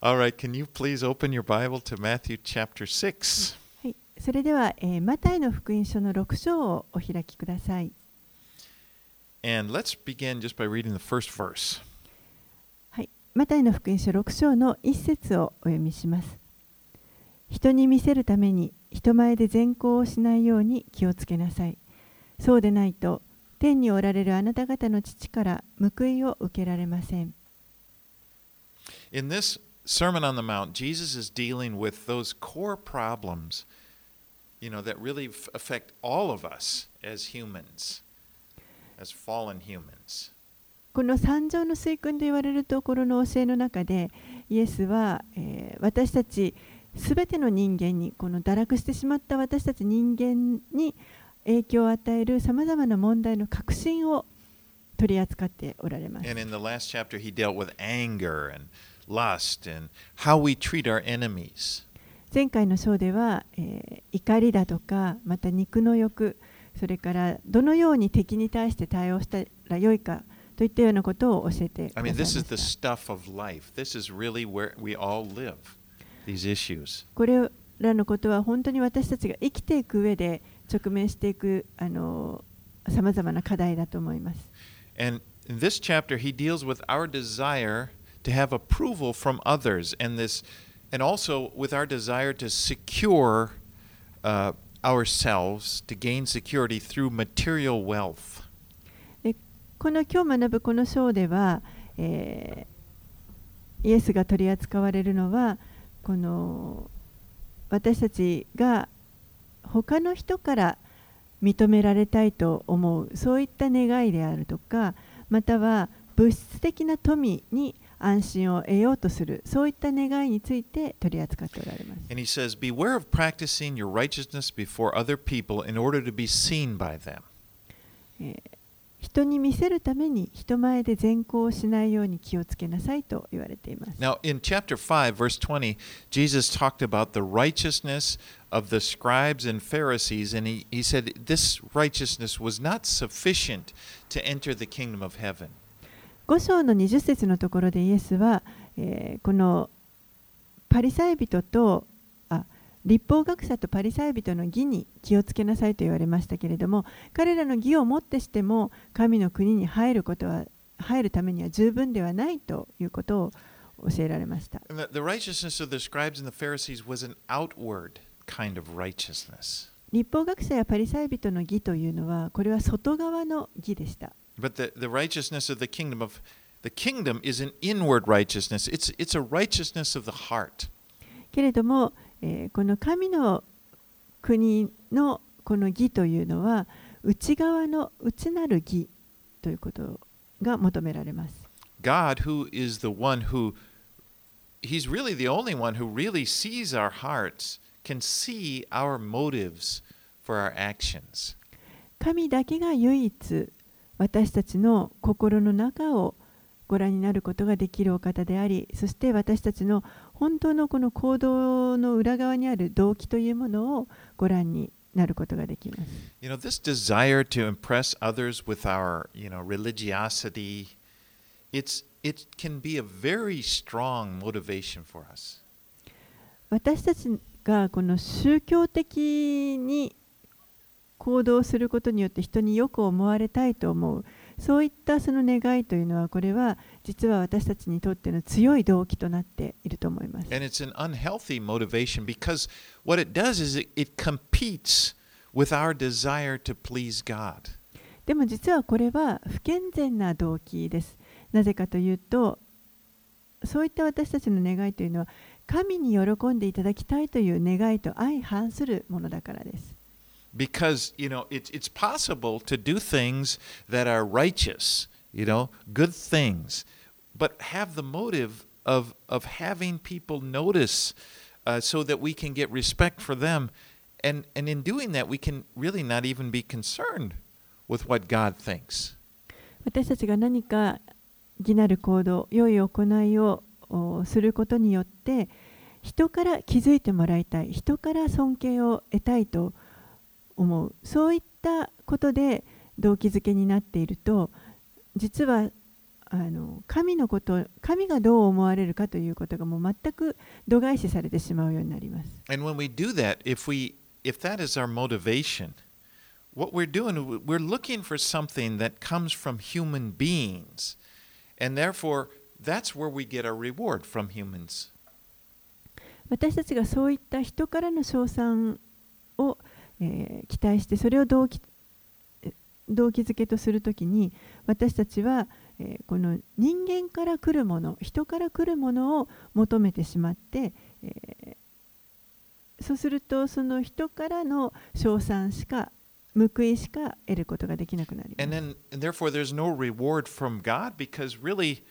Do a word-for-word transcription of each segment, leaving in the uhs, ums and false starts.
All right, can you please open your Bible to Matthew chapter six? はい、それでは、えーマタイの福音書のろく章をお開きください。 And let's begin just by reading the first verse. はい、マタイの福音書ろく章の一節をお読みします。人に見せるために人前で善行をしないように気をつけなさい。そうでないと天におられるあなた方の父から報いを受けられません。 In this Sermon on the Mount, Jesus is dealing with those core problems, you know, that really f- affect all of us as humans, as fallen humans. この三条の水訓と言われるところの教えの中で、イエスは、えー私たちすべての人間に、この堕落してしまった私たち人間に影響を与えるさまざまな問題の核心を取り扱っておられます。 And in the last chapter, he dealt with anger and lust and how we treat our enemies. 前回の章では、えー怒りだとか、また肉の欲、それからどのように敵に対して対応したらよいかといったようなことを教えてくださ I い mean, ま this is し the た。 stuff of life. This is really where we all live, these issues. これらのことは本当に私たちが生きていく上で直面していくあのさまざまな課題だと思います。 And in this chapter, he deals with our desire to have approval from others, and this, and also with our desire to secure uh, ourselves, to gain security through material wealth. でこの今日学ぶこの章では、えーイエスが取り扱われるのはこの私たちが他の人から認められたいと思うそういった願いであるとか、または物質的な富に安心を得ようとするそういった願いについて取り扱っておられます。 And he says, beware of practicing your righteousness before other people in order to be seen by them. えー人に見せるために人前で善行をしないように気をつけなさいと言われています。 Now, in chapter five, verse twenty, Jesus talked about the righteousness of the scribes and Pharisees, and he, he said this righteousness was not sufficient to enter the kingdom of heaven. ご章のにじゅっ節のところでイエスは、えーこのパリサイ人とあ立法学者とパリサイ人の義に気をつけなさいと言われましたけれども、彼らの義をもってしても神の国に入ることは入るためには十分ではないということを教えられました。 And the, the righteousness of the scribes and the Pharisees was an outward kind of righteousness. 立法学者やパリサイ人の義というのはこれは外側の義でした。 But the, the righteousness of the kingdom of the kingdom is an inward righteousness. It's, it's a righteousness of the heart. けれども、えーこの神の国のこの義というのは内側の内なる義ということが求められます。 God, who is the one who, He's really the only one who really sees our hearts, can see our motives for our actions. 神だけが唯一私たちの心の中をご覧になることができるお方であり、そして私たちの本当のこの行動の裏側にある動機というものをご覧になることができます。 You know, this desire to impress others with our, you know, religiosity, it's, it can be a very strong motivation for us. 私たちがこの宗教的に行動することによって人によく思われたいと思う、そういったその願いというのはこれは実は私たちにとっての強い動機となっていると思います。 And it's an unhealthy motivation because what it does is it, it competes with our desire to please God. でも実はこれは不健全な動機です。なぜかというと、そういった私たちの願いというのは神に喜んでいただきたいという願いと相反するものだからです。 Because, you know, it's, it's possible to do things that are righteous, you know, good things, but have the motive of, of having people notice uh, so that we can get respect for them. And, and in doing that, we can really not even be concerned with what God thinks. 私たちが何か義なる行動、良い行いをおすることによって人から気づいてもらいたい、人から尊敬を得たいと思う、そういったことで動機づけになっていると、実はあの神のこと、神がどう思われるかということがもう全く度外視されてしまうようになります。 And when we do that, if we if that is our motivation, what we're doing, we're looking for something that comes from human beings, and therefore that's where we get our reward from humans. 私たちがそういった人からの称賛を、えー期待して、それを動機動機づけとするときに、私たちは、えーこの人間から来るもの、人から来るものを求めてしまって、えーそうするとその人からの称賛しか報いしか得ることができなくなります。 And then and therefore there's no reward from God because really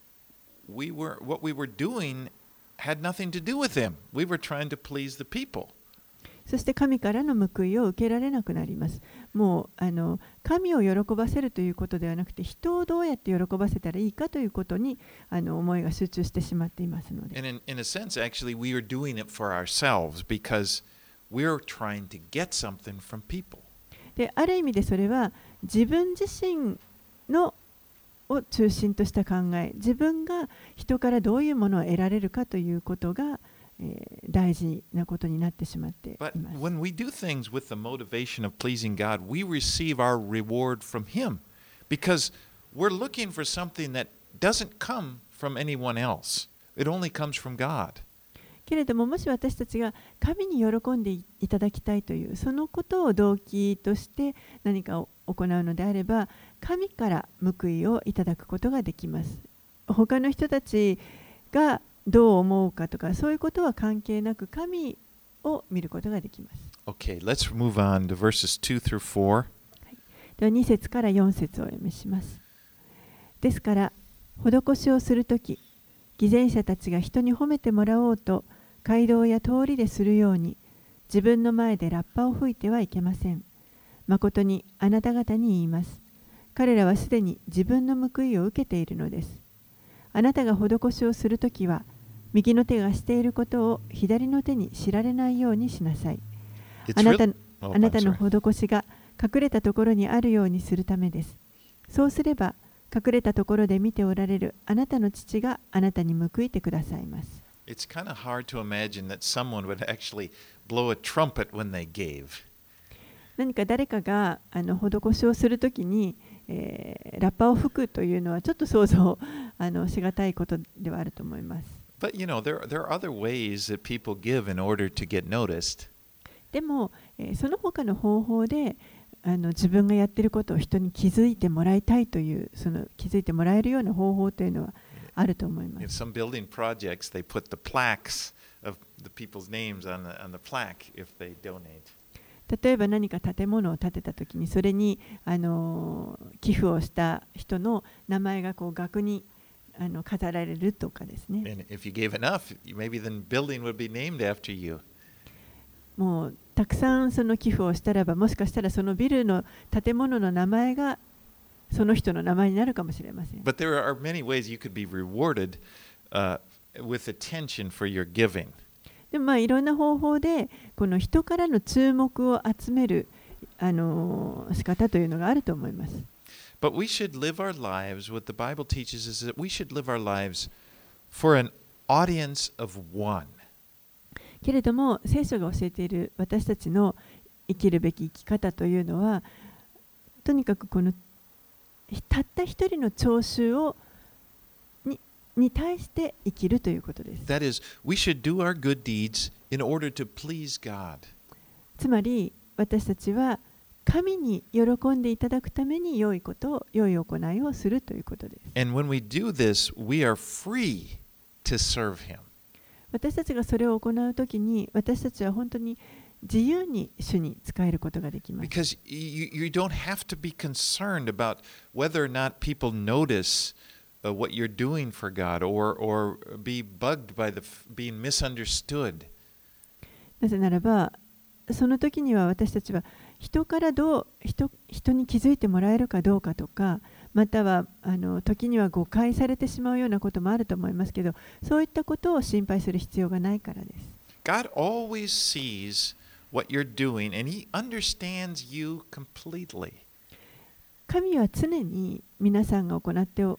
we were what we were doing had nothing to do with him. We were trying to please the people. そして神からの報いを受けられなくなります。もうあの神を喜ばせるということではなくて、人をどうやって喜ばせたらいいかということにあの思いが集中してしまっていますので。 And in, in a sense, actually, we are doing it for ourselves because we're trying to get something from people. で、ある意味でそれは自分自身のを中心とした考え、自分が人からどういうものを得られるかということが、えー大事なことになってしまってい But ます。 when we do things with the motivation of pleasing God, we receive our reward from Him because we're looking for something that doesn't come from anyone else. It only comes from God. けれども、もし私たちが神に喜んでいただきたいというそのことを動機として何かを行うのであれば、神から報いをいただくことができます。他の人たちがどう思うかとか、そういうことは関係なく神を見ることができます。 Okay, let's move on to verses two through four. ではに節からよん節をお読みします。ですから、施しをするとき、偽善者たちが人に褒めてもらおうと、街道や通りでするように、自分の前でラッパを吹いてはいけません。誠にあなた方に言います。彼らはすでに自分の報いを受けているのです。あなたが施しをするときは、右の手がしていることを左の手に知られないようにしなさい。 It's あなた real- oh, あなた I'm の sorry. 施しが隠れたところにあるようにするためです。そうすれば、隠れたところで見ておられるあなたの父があなたに報いてくださいます。 It's kind of hard to imagine that someone would actually blow a trumpet when they gave. 何か誰かがあの施しをするときに、えーラッパを吹くというのはちょっと想像あのしがたいことではあると思います。 But you know, there, there are other ways that people give in order to get noticed. でも、えーその他の方法であの自分がやっていることを人に気づいてもらいたいというその気づいてもらえるような方法というのはあると思いま In す。 some building projects, they put the plaques of the people's names on the, on the plaque if they donate. 例えば何か建物を建てたときにそれにあの寄付をした人の名前がこう額にあの飾られるとかですね。 And if you gave enough, maybe the building would be named after you. もうたくさんその寄付をしたらば、もしかしたらそのビルの建物の名前がその人の名前になるかもしれません。 But there are many ways you could be rewarded uh, with attention for your giving. でもまあいろんな方法でこの人からの注目を集めるあの仕方というのがあると思います。 But we should live our lives, what the Bible teaches is that we should live our lives for an audience of one. けれども聖書が教えている私たちの生きるべき生き方というのは、とにかくこのたった一人の聴衆をにに対して生きるということです。 That is, we should do our good deeds in order to please God. つまり私たちは神に喜んでいただくために良いことを、良い行いをするということです。 And when we do this, we are free to serve Him. 私たちがそれを行うときに、私たちは本当に自由に主に仕えることができます。 Because you, you don't have to be concerned about whether or not people notice uh, what you're doing for God or, or be bugged by the, being misunderstood. なぜならば、その時には私たちは人からどう 人, 人に気づいてもらえるかどうかとか、またはあの時には誤解されてしまうようなこともあると思いますけど、そういったことを心配する必要がないからです。 God always sees what you're doing and He understands you completely. 神は常に皆さんが行って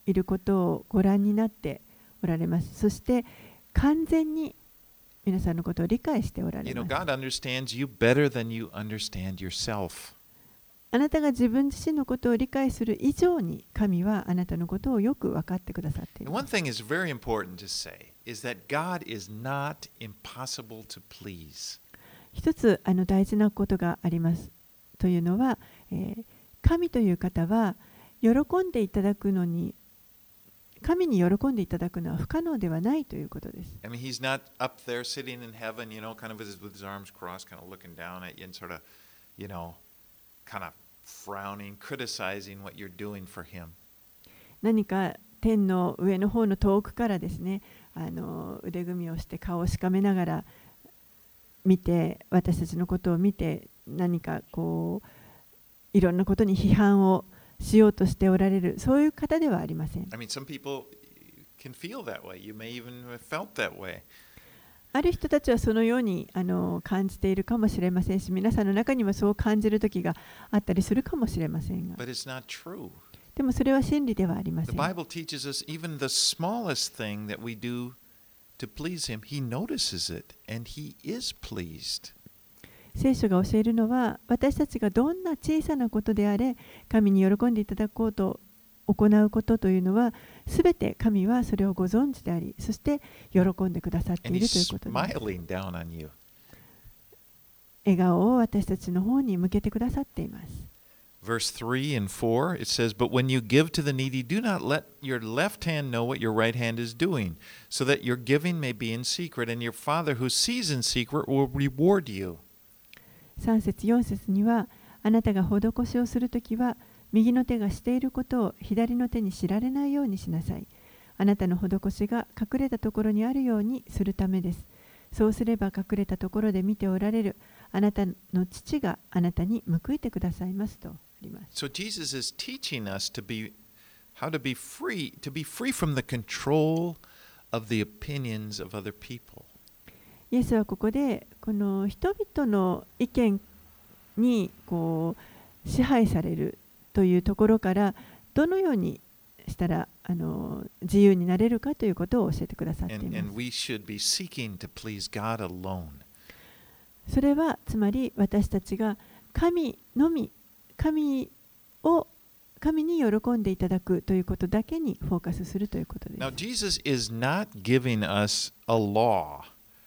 いることをご覧になっておられます。そして完全に皆さんのことを理解しておられ You know, ます。 God understands you better than you understand yourself. あなたが自分自身のことを理解する以上に神はあなたのことをよく分かってくださってい And ま one す。 thing is very important to say is that God is not impossible to please. 一つあの大事なことがありますというのは、えー神という方は喜んでいただくのに神に喜んでいただくのは不可能ではないということです。 I mean, He's not up there sitting in heaven, you know, kind of with his, with his arms crossed, kind of looking down at you and sort of, you know, kind of frowning, criticizing what you're doing for Him. 何か天の上の方の遠くからですね、あの腕組みをして顔をしかめながら見て、私たちのことを見て、何かこういろんなことに批判をしようとしておられる、そういう方ではありません。 I mean, some people can feel that way. You may even have felt that way. ある人たちはそのようにあの感じているかもしれませんし、皆さんの中にはそう感じる時があったりするかもしれませんが、 But it's not true. でもそれは真理ではありま The せん。 Bible teaches us even the smallest thing that we do to please Him, He notices it and He is pleased. 聖書が教えるのは、私たちがどんな小さなことであれ、神に喜んでいただこうと行うことというのは、すべて神はそれをご存知であり、そして喜んでくださって And いるという He's ことです。 smiling down on you. 笑顔を私たちの方に向けてくださっています。 Verse three and four, it says, But when you give to the needy, do not let your left hand know what your right hand is doing, so that your giving may be in secret, and your Father who sees in secret will reward you. さん節よん節には、あなたが施しをするときは、右の手がしていることを左の手に知られないようにしなさい。あなたの施しが隠れたところにあるようにするためです。そうすれば隠れたところで見ておられるあなたの父があなたに報いてくださいますとあります。 So Jesus is teaching us to be how to be free, to be free from the control of the opinions of other people. イエスはここでこの人々の意見にこう支配されるというところからどのようにしたらあの自由になれるかということを教えてくださってい And, ます。 and we should be seeking to please God alone. それはつまり私たちが神のみ、神を神に喜んでいただくということだけにフォーカスするということです。 Now, Jesus is not giving us a law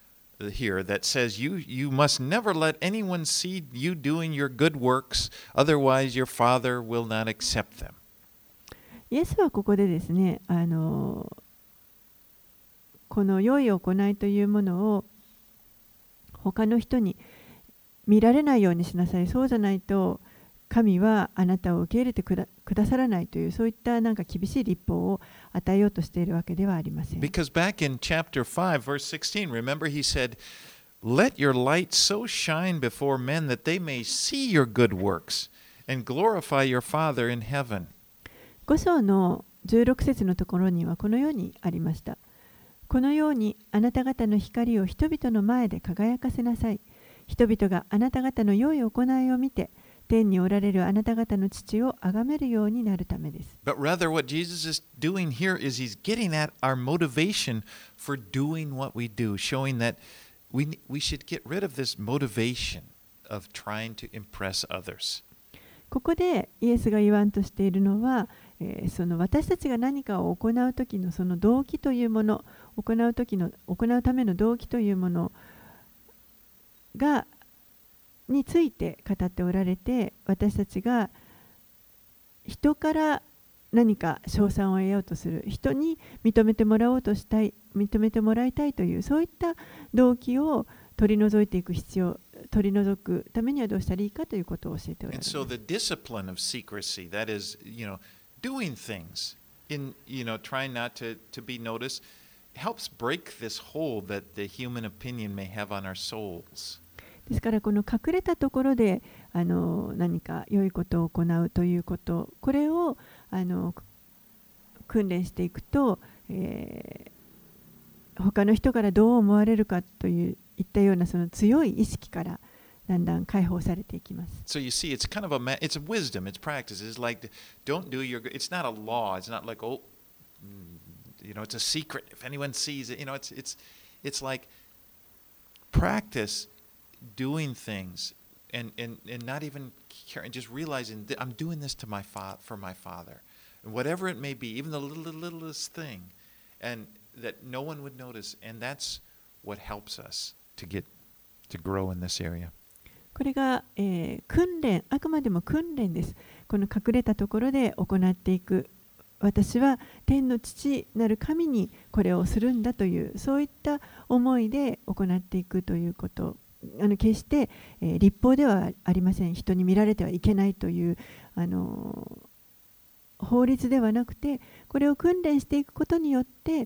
here that says you, you must never let anyone see you doing your good works, otherwise your Father will not accept them. イエスはここでですね、あのこの良い行いというものを他の人に見られないようにしなさい。そうじゃないと神はあなたを受け入れてくだ、くださらないというそういったなんか厳しい律法を与えようとしているわけではありません。 Because back in chapter five, verse sixteen, remember he said, Let your light so shine before men that they may see your good works and glorify your Father in heaven. ご章のじゅうろく節のところにはこのようにありました。このようにあなた方の光を人々の前で輝かせなさい。人々があなた方の良い行いを見て、天におられるあなた方の父を崇めるようになるためです。 But rather, what Jesus is doing here is he's getting at our motivation for doing what we do, showing that we, we should get rid of this motivation of trying to impress others. ここでイエスが言わんとしているのは、えー、その私たちが何かを行うときのその動機というもの、行う時の行うための動機というものがについて語っておられて、私たちが人から何か称賛を得ようとする、人に認めてもらおうとしたい、認めてもらいたいというそういった動機を取り除いていく必要、取り除くためにはどうしたらいいかということを教えておられ And ます。 so the discipline of secrecy, that is, you know, doing things in, you know, trying not to, to be noticed, helps break this hold that the human opinion may have on our souls. ですからこの隠れたところであの何か良いことを行うということ、これをあの訓練していくと、えー、他の人からどう思われるかといういったようなその強い意識からだんだん解放されていきます。 So you see, it's kind of a, it's a wisdom, it's practice. It's like, don't do your, it's not a law. It's not like, oh, you know, it's a secret. If anyone sees it, you know, it's it's it's like practice doing things and and and not even caring, just realizing that I'm doing this to my fa- for my Father, and whatever it may be, even the little, littlest thing, and that no one would notice, and that's what helps us to get to grow in this area. これが、えー訓練、あくまでも訓練です。この隠れたところで行っていく。私は天の父なる神にこれをするんだという、そういった思いで行っていくということ。あの決して、えー立法ではありません。人に見られてはいけないという、あのー法律ではなくて、これを訓練していくことによって、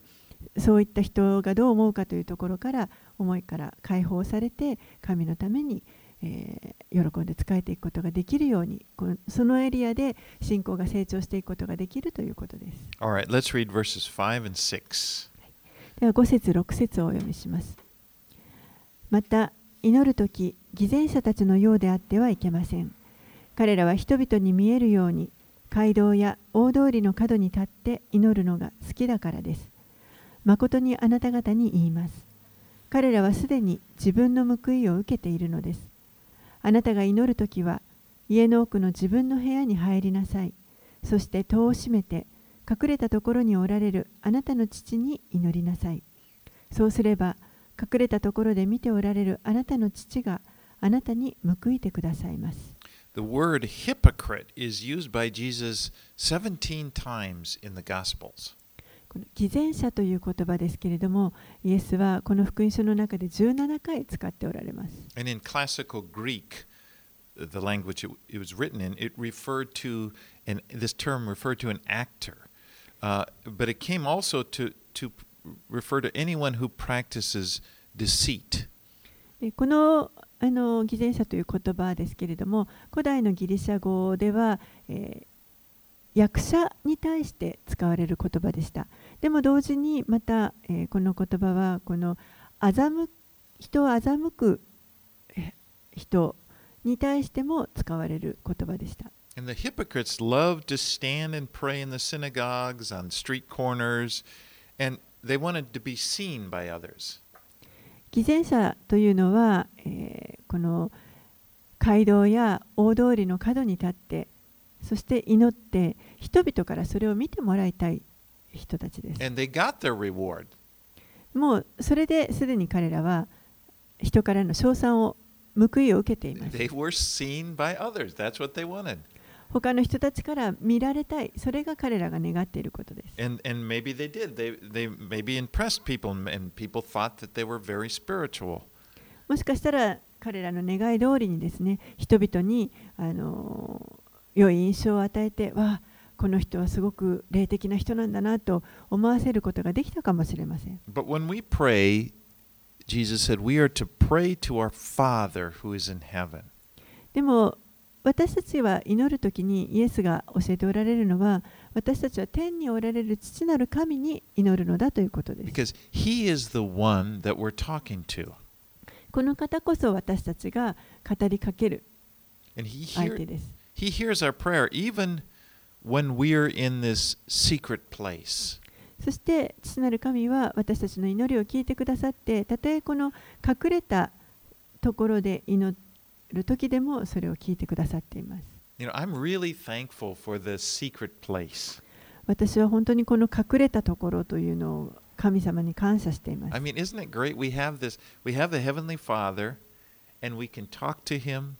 そういった人がどう思うかというところから思いから解放されて、神のためにえー喜んで仕えていくことができるように、このそのエリアで信仰が成長していくことができるということです。 All right, let's read verses five and six. ではご節ろく節をお読みします。また祈るとき、偽善者たちのようであってはいけません。彼らは人々に見えるように街道や大通りの角に立って祈るのが好きだからです。誠にあなた方に言います。彼らはすでに自分の報いを受けているのです。あなたが祈るときは、家の奥の自分の部屋に入りなさい。そして戸を閉めて、隠れたところにおられるあなたの父に祈りなさい。そうすれば、隠れたところで見ておられるあなたの父があなたに報いてくださいます。 The word hypocrite is used by Jesus seventeen times in the Gospels. この偽善者という言葉ですけれども、イエスはこの福音書の中でじゅうななかい使っておられます。 And in classical Greek, the language it, it was written in, it referred to, and this term referred to an actor. Uh, but it came also to, to refer to anyone who practices deceit. でこのあの偽善者という言葉ですけれども、古代のギリシャ語では、えー役者に対して使われる言葉でした。でも同時にまた、えー、この言葉はこの欺人を欺く人に対しても使われる言葉でした。 And the hypocrites loved to stand and pray in the synagogues, on street corners, and they wanted to be seen by others. 偽善者というのは、えー、この街道や大通りの角に立ってそして祈って人々からそれを見てもらいたい人たちです。 And they got their reward. もうそれですでに彼らは人からの称賛を報いを受けています。 They were seen by others. That's what they wanted. 他の人たちから見られたい。それが彼らが願っていることです。 And, and maybe they did. They, they maybe impressed people, and people thought that they were very spiritual. もしかしたら彼らの願い通りにですね、人々にあの良い印象を与えて、わあ、この人はすごく霊的な人なんだなと思わせることができたかもしれません。 But when we pray, Jesus said we are to pray to our Father who is in heaven. でも私たちは祈るときにイエスが教えておられるのは、私たちは天におられる父なる神に祈るのだということです。 Because He is the one that we're talking to. この方こそ私たちが語りかける And He 相 hears 手です。 He hears our prayer even when we're in this secret place. そして父なる神は私たちの祈りを聞いてくださって、たとえこの隠れたところで祈る時でもそれを聞いてくださっています。 You know, I'm really thankful for the secret place. 私は本当にこの隠れたところというのを神様に感謝しています。 I mean, isn't it great? We have this, we have the Heavenly Father, and we can talk to Him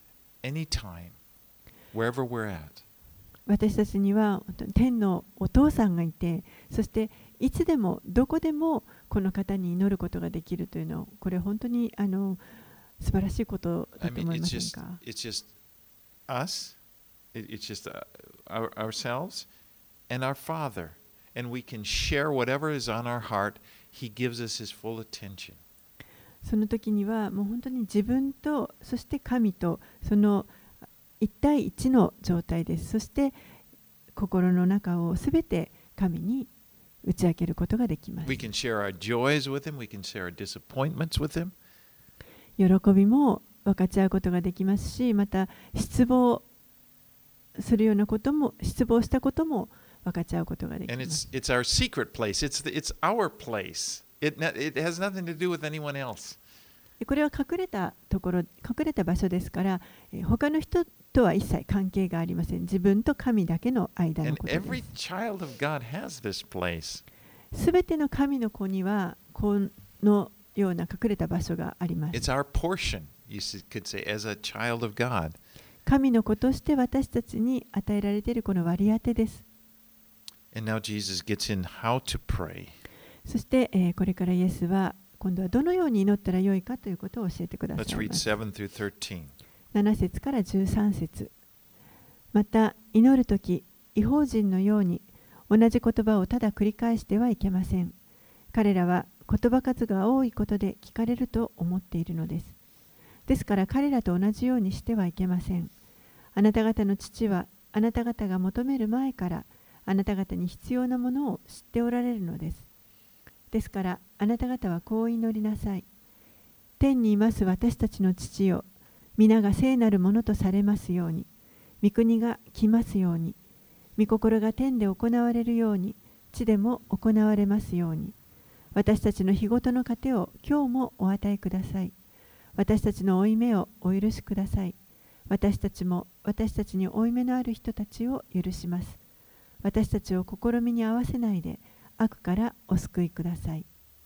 anytime, wherever we're at. 私たちには天のお父さんがいて、そしていつでもどこでもこの方に祈ることができるというの、これ本当にあの素晴らしいことだ I と mean, 思いま it's せん just, か。 it's just us, it, it's just uh, our, ourselves and our Father, and we can share whatever is on our heart. He gives us His full attention. その時にはもう本当に自分とそして神とその一対一の状態です。そして心の中をすべて神に打ち明けることができます。 We can share our joys with Him. We can share our disappointments with Him. 喜びも分かち合うことができますし、また失望するようなことも、失望したことも分かち合うことができ And ます。 it's it's our secret place. It's the, it's our place. It ne- it has nothing to do with anyone else. これは隠れたところ、隠れた場所ですから、えー他の人とは一切関係がありません。自分と神だけの間の And ことで every す。 child of God has this place. すべての神の子にはこのような隠れた場所があります。 It's our portion, you s- could say, as a child of God. 神の子として私たちに与えられているこの割り当てです。 And now Jesus gets in how to pray. そして、えーこれからイエスは今度はどのように祈ったらよいかということを教えてくださ Let's い read ます。 seven through thirteen. なな節からじゅうさん節。また祈るとき、異邦人のように同じ言葉をただ繰り返してはいけません。彼らは言葉数が多いことで聞かれると思っているのです。ですから彼らと同じようにしてはいけません。あなた方の父はあなた方が求める前からあなた方に必要なものを知っておられるのです。ですからあなた方はこう祈りなさい。天にいます私たちの父よ、皆が聖なるものとされますように、御国が来ますように、御心が天で行われるように、地でも行われますように。私たちの日ごとの糧を今日もお与えください。私たちの負い目をお許しください。私たちも私たちに負い目のある人たちを許します。私たちを試みに合わせないで、悪からお救いください。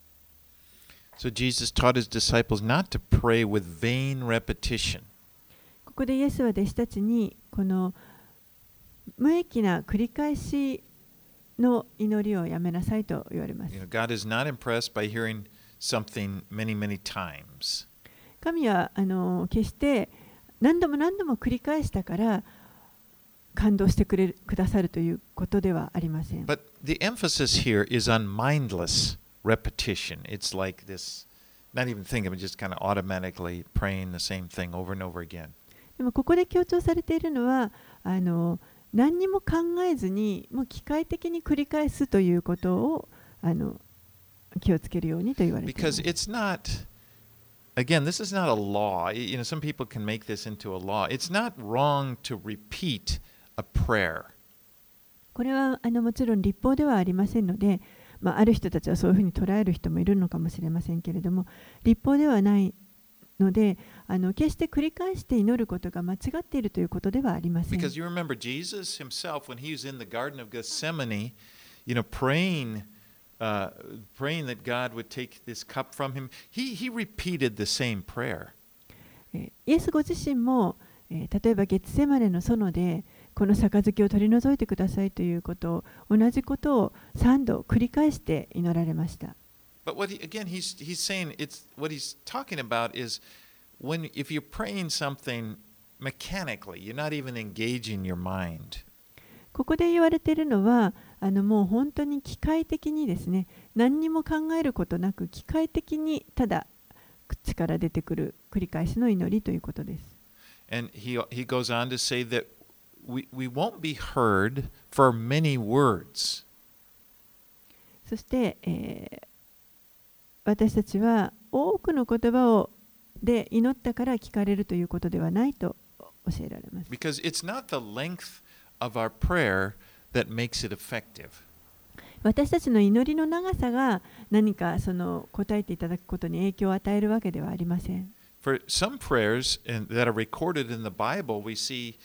So Jesus taught his disciples not to pray with vain repetition. ここでイエスは弟子たちにこの無益な繰り返しの祈りをやめなさいと言われます。 You know, God is not impressed by hearing something many, many times. 神はあの決して何度も何度も繰り返したから感動してくれるくださるということではありません。 But the emphasis here is on mindless repetition. It's like this, not even thinking, but just kind of automatically praying the same thing over and over again. でもここで強調されているのはあの何にも考えずにもう機械的に繰り返すということをあの気をつけるようにと言われています。 Because it's not, again, this is not a law. You know, some people can make this into a law. It's not wrong to repeat a prayer. これはあのもちろん立法ではありませんので、まあ、ある人たちはそういうふうに捉える人もいるのかもしれませんけれども、立法ではないので、あの決して繰り返して祈ることが間違っているということではありません。 Because you remember Jesus himself, when he was in the Garden of Gethsemane, you know, praying, uh, praying that God would take this cup from him, he, he repeated the same prayer. えイエスご自身も、えー例えばゲツセマネの園でこの杯を取り除いてくださいということを同じことをさんど繰り返して祈られました。 But what he, again, he's, he's saying, it's, what he's talking about is when, if you're praying something mechanically, you're not even engaging your mind. ここで言われているのはあのもう本当に機械的にですね、何にも考えることなく機械的にただ口から出てくる繰り返しの祈りということです。 And he, he goes on to say that we, we won't be heard for many words. そして、えー私たちは多くの言葉をで祈ったから聞かれるということではないと教えられます。 Because it's not the length of our prayer that makes it effective. 私たちの祈りの長さが何かその答えていただくことに影響を与えるわけではありません。 For some prayers in, that are recorded in the Bible, we see,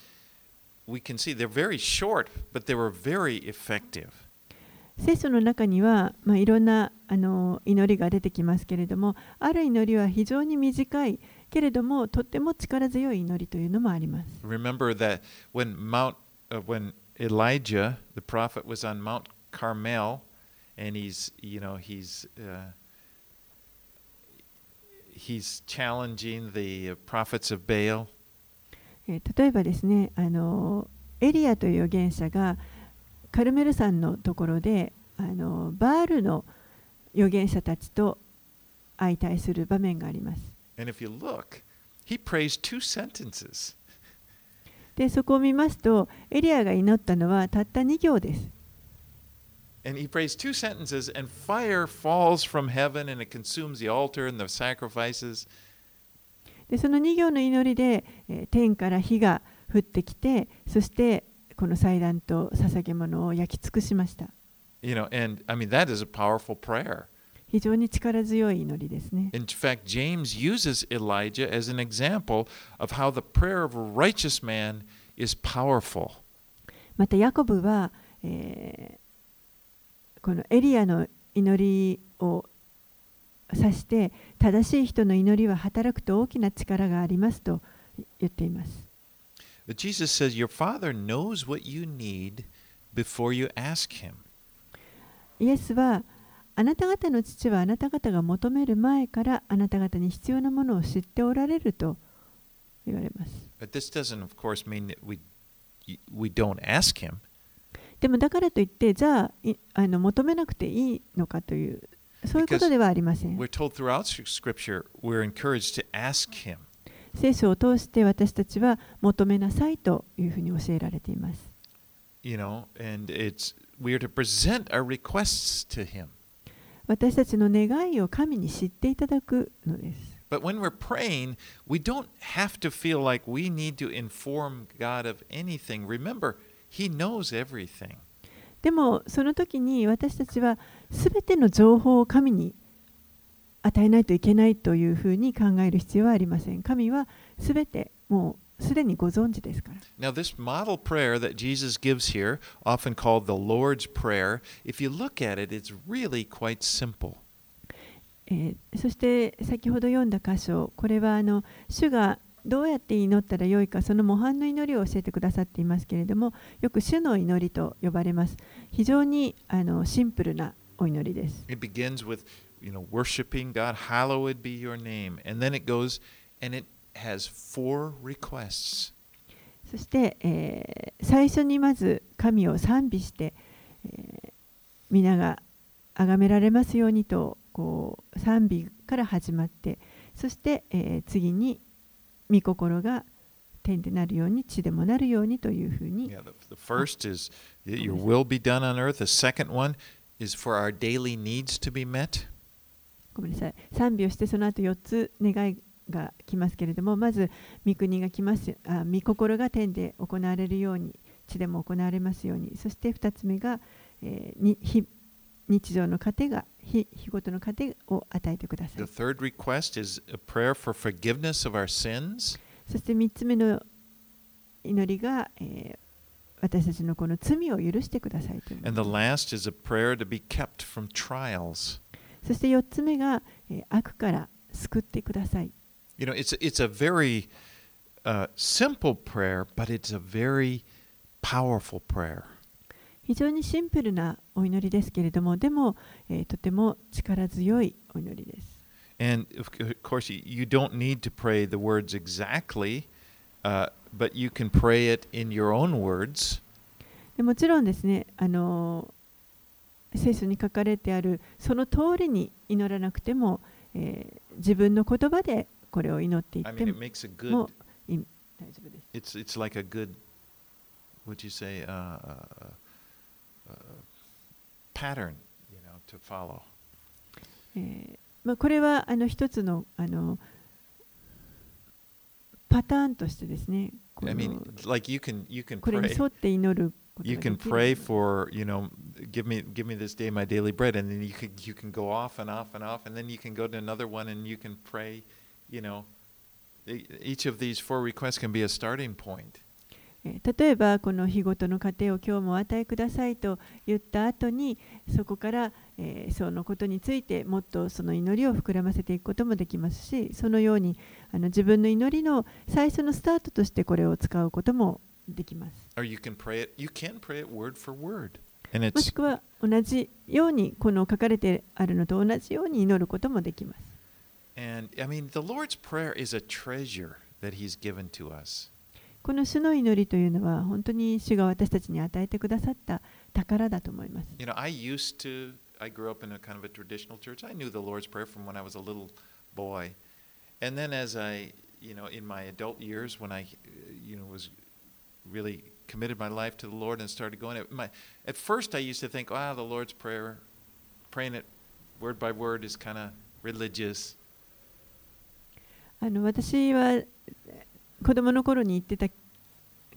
we can see they're very short, but they were very effective. 聖書の中には、まあ、いろんなあの祈りが出てきますけれども、ある祈りは非常に短いけれどもとっても力強い祈りというのもあります。 Remember that when Mount, uh, when Elijah, the prophet, was on Mount Carmel, and he's, you know, he's, uh, he's challenging the prophets of Baal. えー例えばですね、あのエリアという預言者がカルメル山のところであのバールの預言者たちと相対する場面があります。 And if you look, he prays two sentences. で、そこを見ますと、エリアが祈ったのはたったに行です。 And he prays two sentences, and fire falls from heaven and it consumes the altar and the sacrifices. で、そのに行の祈りで、えー天から火が降ってきて、そしてこの祭壇と捧げ物を焼き尽くしました。 You know, and I mean, that is a powerful prayer. 非常に力強い祈りですね。 In fact, James uses Elijah as an example of how the prayer of a righteous man is powerful. またヤコブは、えー、このエリアの祈りを指して正しい人の祈りは働くと大きな力がありますと言っています。 But Jesus says, Your Father knows what you need before you ask Him. イエスはあなた方の父はあなた方が求める前からあなた方に必要なものを知っておられると言われます。 But this doesn't, of course, mean that we, we don't ask Him. でもだからといってじゃあ、いあの求めなくていいのかというそういうことではありません。 We're told throughout Scripture we're encouraged to ask Him. 聖書を通して私たちは求めなさいというふうに教えられています。 You know, and it's we are to present our requests to Him. 私たちの願いを神に知っていただくのです。 But when we're praying, we don't have to feel like we need to inform God of anything. Remember, He knows everything. でもその時に私たちはすべての情報を神に与えないといけないというふうに考える必要はありません。神はすべてもうすでにご存知ですから。 Now, this model prayer that Jesus gives here, often called the Lord's Prayer, if you look at it, it's really quite simple. えー、そして先ほど読んだ箇所、これはあの主がどうやって祈ったらよいか、その模範の祈りを教えてくださっていますけれども、よく主の祈りと呼ばれます。非常にあのシンプルなお祈りです。 It begins with, you know, worshiping God, hallowed be your name. And then it goes, and it has four requests. そして、えー、最初にまず神を賛美して、えー、皆が崇められますようにとこう賛美から始まって、そして、えー、次に御心が天でなるように地でもなるようにというふうに。 Yeah, the, the first is your will be done on earth. The second one is for our daily needs to be met. ごめんなさい。賛美をしてその後よっつ願いが来ますけれども、まず御国が来ます。あ、御心が天で行われるように、地でも行われますように。そしてふたつめが、えー、に日日常の糧が日日ごとの糧を与えてください。 The third request is a prayer for forgiveness of our sins. そしてみっつめの祈りが、えー、私たちのこの罪を許してくださいという。 And the last is a prayer to be kept from trials. そしてよっつめが、えー、悪から救ってください。 You know, it's, it's a very uh, simple prayer, but it's a very powerful prayer. 非常にシンプルなお祈りですけれども、でも、えー、とても力強いお祈りです。 And of course, you don't need to pray the words exactly, uh, but you can pray it in your own words. でもちろんですね、あの聖書に書かれてあるその通りに祈らなくても、えー、自分の言葉でこれを祈っていっても、 I mean, it makes a good, もい大丈夫です。 It's, it's like a good, would you say, uh, uh, pattern, you know, to follow. えーまあ、これはあの一つの、あのパターンとしてですね、この I mean, like you can, you can これに pray. 沿って祈ること You がで can きる。 pray for, you know, give me, give me this day my daily bread, and then you can, you can go off and off and off, and then you can go to another one, and you can pray, you know. Each of these four requests can be a starting point. えー例えばこの日ごとの糧を今日もお与えくださいと言った後に、そこから、えーそのことについてもっとその祈りを膨らませていくこともできますし、そのようにあの自分の祈りの最初のスタートとしてこれを使うこともできます。 Or you can pray it, you can pray it word for word. And もし it's くは同じようにこの書かれてあるのと同じように祈ることもできます。 and I mean the Lord's prayer is a treasure that He's given to us. この主の祈りというのは本当に主が私たちに与えてくださった宝だと思います。 You know, I used to, I grew up in a kind of a traditional church. I knew the Lord's Prayer from when I was a little boy. And then as I, you know, in my adult years, when I, you know, was really committed my life to the Lord and started going, at, my, at first I used to think, wow, the Lord's Prayer, praying it word by word is kind of religious. あの私は子供の頃に言ってた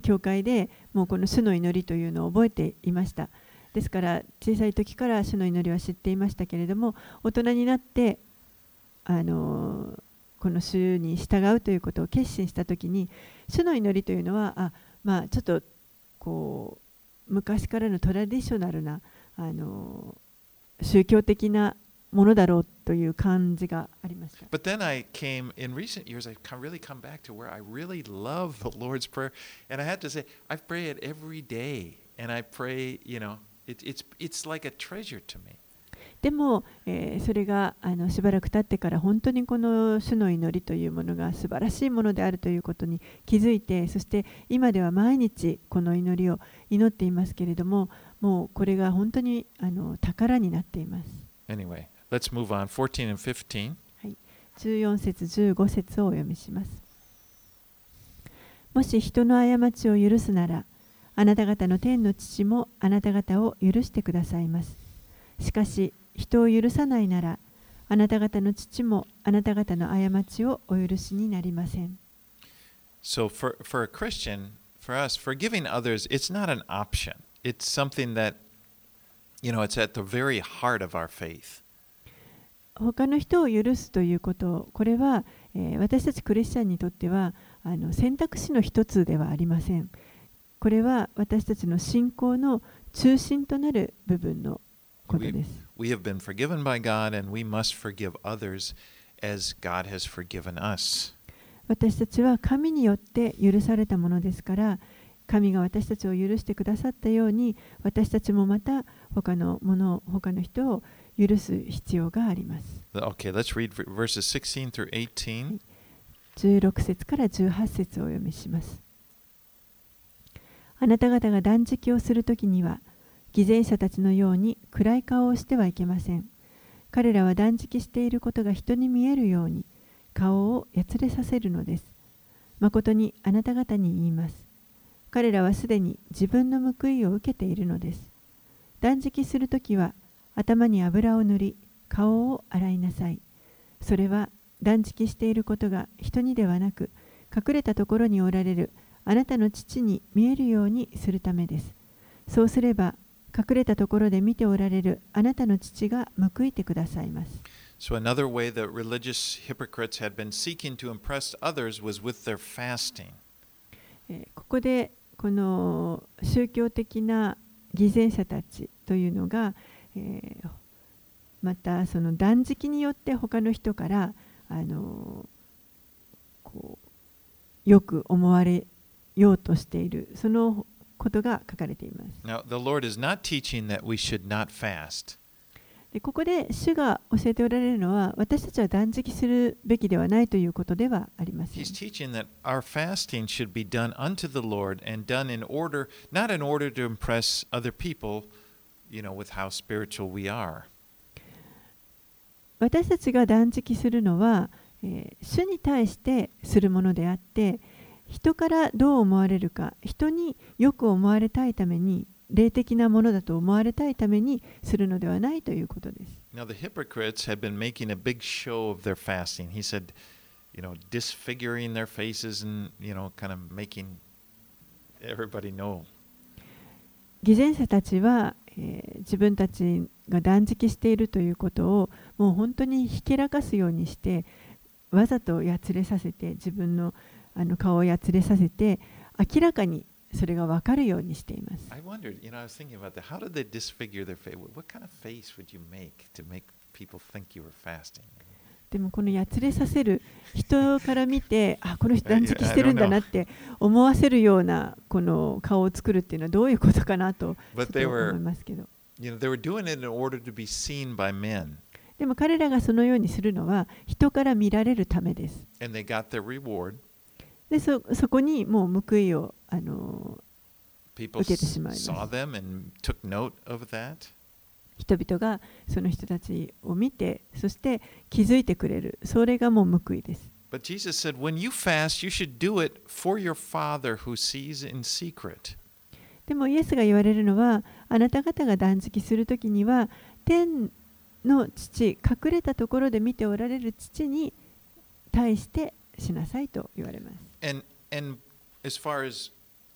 教会でもうこの主の祈りというのを覚えていました。ですから小さい時から主の祈りは知っていましたけれども、大人になってあのこの主に従うということを決心した時に、主の祈りというのはあ、まあ、ちょっとこう昔からのトラディショナルなあの宗教的なものだろうという感じがありました。 But then I came, in recent years, I've come, really come back to where I really love the Lord's Prayer. And I have to say, I pray it every day. And I pray, you know, it, it's, it's like a treasure to me. でも、えーそれがあのしばらく経ってから本当にこの主の祈りというものが素晴らしいものであるということに気づいて、そして今では毎日この祈りを祈っていますけれども、もうこれが本当にあの宝になっています。 Anyway, let's move on. fourteen and fifteen. はい、じゅうよん節じゅうご節をお読みします。もし人の過ちを許すなら、あなた方の天の父もあなた方を許してくださいます。しかし人を許さないなら、あなた方の父もあなた方の過ちをお許しになりません。 So for, for a Christian, for us, forgiving others, it's not an option. It's something that, you know, it's at the very heart of our faith. 他の人を許すということ、これは、えー私たちクリスチャンにとってはあの選択肢の一つではありません。これは私たちの信仰の中心となる部分のことです。 We have been forgiven by God, and we must forgive others as God has forgiven us. 私たちは神によって許されたものですから、神が私たちを許してくださったように、私たちもまた他のもの、他の人を許す必要があります。 Okay, let's read verses sixteen through eighteen. じゅうろく節からじゅうはち節をお読みします。あなた方が断食をするときには、偽善者たちのように暗い顔をしてはいけません。彼らは断食していることが人に見えるように顔をやつれさせるのです。誠にあなた方に言います。彼らはすでに自分の報いを受けているのです。断食するときは頭に油を塗り、顔を洗いなさい。それは断食していることが人にではなく、隠れたところにおられるあなたの父に見えるようにするためです。そうすれば、隠れたところで見ておられるあなたの父が報いてくださいます。 So another way that religious hypocrites had been seeking to impress others was with their fasting. えーここでこの宗教的な偽善者たちというのが、えーまたその断食によって他の人からあのこうよく思われようとしている、そのことが書かれています。 Now, the Lord is not teaching that we should not fast. でここで主が教えておられるのは、私たちは断食するべきではないということではありません。 He's teaching that our fasting should be done unto the Lord and done in order, not in order to impress other people, you know, with how spiritual we are. 私たちが断食するのは、えー主に対してするものであって、人からどう思われるか、人によく思われたいために、霊的なものだと思われたいためにするのではないということです。 Now, the hypocrites had been making a big show of their fasting. He said, you know, disfiguring their faces and, you know, kind of making everybody know. 偽善者たちは、えー自分たちが断食しているということをもう本当にひけらかすようにして、わざとやつれさせて、自分のあの顔をやつれさせて、明らかにそれが分かるようにしています。 I wondered, you know, I was thinking about that. How did they disfigure their face? What kind of face would you make to make people think you were fasting? でもこのやつれさせる、人から見て、あ、この人断食してるんだなって思わせるようなこの顔を作るっていうのはどういうことかなとちょっ But と they 思 were, いますけど。 you know, they were doing it in order to be seen by men. でも彼らがそのようにするのは人から見られるためです。 And they got their reward. で そ, そこにもう報いをあの People 受けてしまいます。 saw them and took note of that. 人々がその人たちを見て、そして気づいてくれる、それがもう報いです。 But Jesus said, when you fast, you should do it for your Father who sees in secret. でもイエスが言われるのは、あなた方が断食するときには、天の父、隠れたところで見ておられる父に対してしなさいと言われます。 And and as far as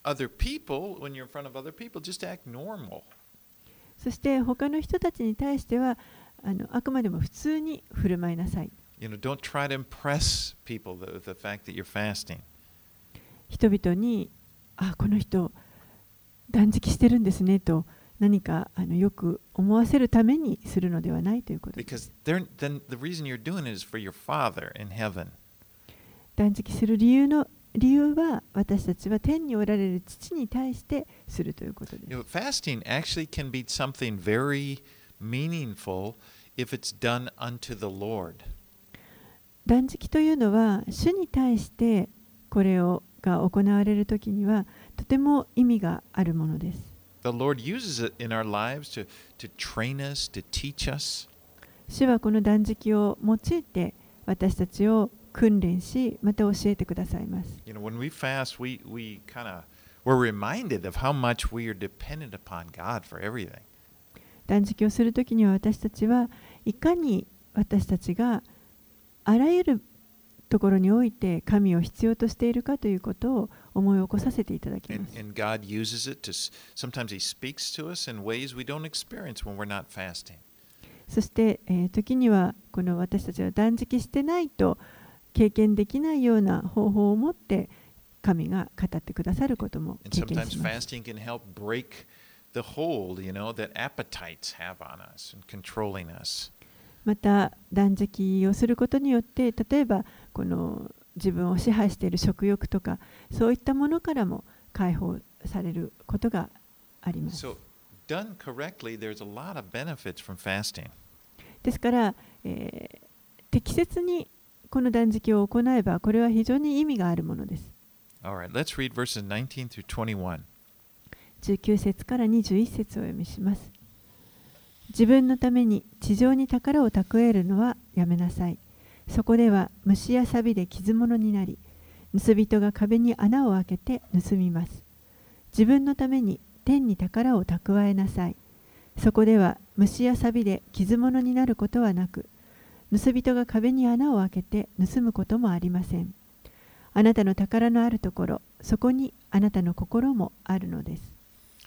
other people, when you're in front of other people, just act normal. そして他の人たちに対してはあのあくまでも普通に振る舞いなさい。 You know, don't try to impress people with the fact that you're fasting. 人々に、あ、この人断食してるんですねと何かあのよく思わせるためにするのではないということです。 Because then the reason you're doing it is for your Father in heaven. 断食する理由の理由は私たちは天におられる父に対してするということです。 You know, fasting actually can be something very meaningful if it's done unto the Lord. 断食というのは主に対してこれをが行われるときにはとても意味があるものです。 The Lord uses it in our lives to, to train us, to teach us. 主はこの断食を用いて私たちを訓練し、また教えてくださいます。 You know, when we fast, we, we kind of, we're reminded of how much we are dependent upon God for everything. 断食をするときには私たちはいかに私たちがあらゆるところにおいて神を必要としているかということを思い起こさせていただきます。 And, and God uses it to, sometimes He speaks to us in ways we don't experience when we're not fasting. そして、えー、時にはこの私たちは断食してないと経験できないような方法を持って神が語ってくださることも経験します。 fasting can help break the hold, you know, that appetites have on us and controlling us. また断食をすることによって例えばこの自分を支配している食欲とかそういったものからも解放されることがあります。 So, done correctly, there's a lot of benefits from fasting. ですから、えー、適切にこの断食を行えばこれは非常に意味があるものです。 Alright, let's read verses nineteen through twenty-one. じゅうきゅう節からにじゅういち節をお読みします。自分のために地上に宝を蓄えるのはやめなさい。そこでは虫や錆で傷物になり、盗人が壁に穴を開けて盗みます。自分のために天に宝を蓄えなさい。そこでは虫や錆で傷物になることはなく、盗人が壁に穴を開けて盗むこともありません。あなたの宝のあるところ、そこにあなたの心もあるのです。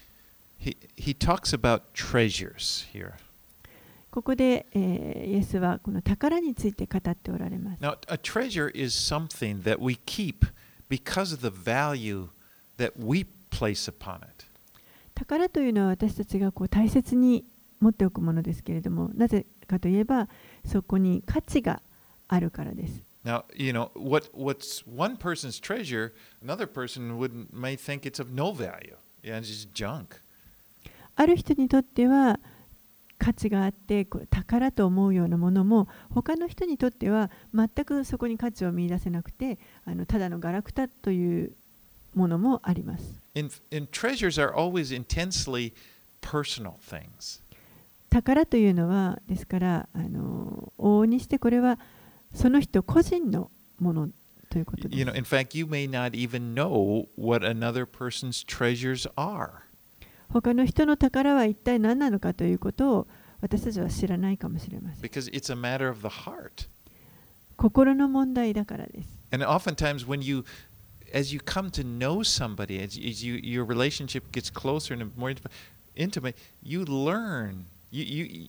He, he talks about treasures here. ここで、えー、イエスはこの宝について語っておられます。 Now, a treasure is something that we keep because of the value that we place upon it. 宝というのは私たちがこう大切に持っておくものですけれども、なぜかといえばそこに価値があるからです。 Now, you know, what, what's one person's treasure, another person would, may think it's of no value. Yeah, it's just junk. ある人にとっては価値があってこう宝と思うようなものも他の人にとっては全くそこに価値を見出せなくてあのただのガラクタというものもあります。 And, and treasures are always intensely personal things. 宝というのはですからあの往々にしてこれはその人個人のものということです。 You know, in fact, you may not even know what another person's treasures are. 他の人の宝は一体何なのかということを私たちは知らないかもしれません。 Because it's a matter of the heart. 心の問題だからです。 And oftentimes when you, as you come to know somebody, as, as you, your relationship gets closer and more intimate, you learn, you,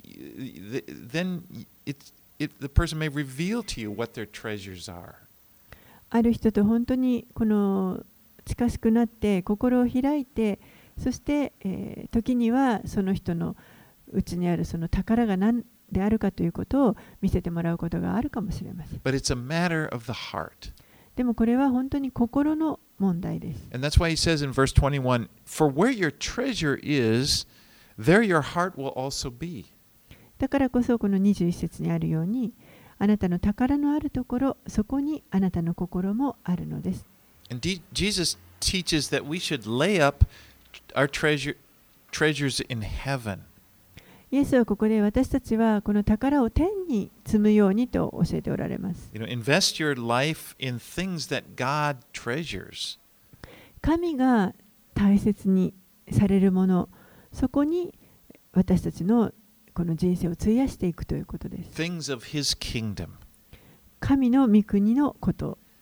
you, then it's, it, the person may reveal to you what their treasures are. ある人と本当にこの近しくなって心を開いてそして、えー、時にはその人のうちにあるその宝が何であるかということを見せてもらうことがあるかもしれません。 But it's a matter of the heart. でもこれは本当に心の問題です。 And that's why he says in verse twenty-one, For where your treasure is, there your heart will also be. だからこそこのにじゅういち節にあるように、あなたの宝のあるところ、そこにあなたの心もあるのです。 And Jesus teaches that we should lay up our treasure, treasures in heaven. イエスはここで私たちはこの宝を天に積むようにと教えておられます。 You know, invest your life in things that God treasures. 神が大切にされるもの、そこに私たちのこの人生を費やしていくということです。 Things of His kingdom. 神の御国のこと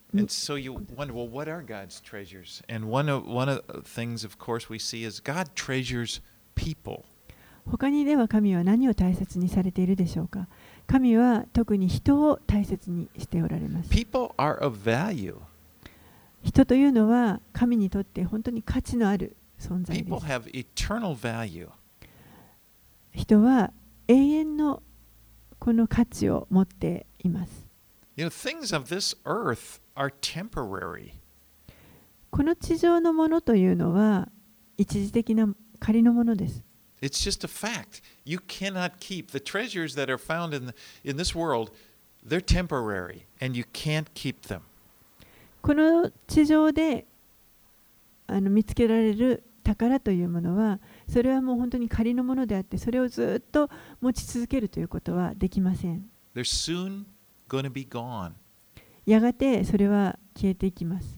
And so you wonder, well, what are God's treasures? And one of one of the things, of course, we see is God treasures people. 他にでは神は何を大切にされているでしょうか。神は特に人を大切にしておられます。 People are of value. 人というのは神にとって本当に価値のある存在で People す。 have eternal value. 人は永遠のこの価値を持っています。 You know, things of this earth are temporary. この地上のものというのは一時的な仮のものです。 It's just a fact. You cannot keep the treasures that are found in the, in this world. They're temporary, and you can't keep them. この地上であの見つけられる宝というものは、それはもう本当に仮のものであって、それをずっと持ち続けるということはできません。 They're soon going to be gone. やがてそれは消えていきます。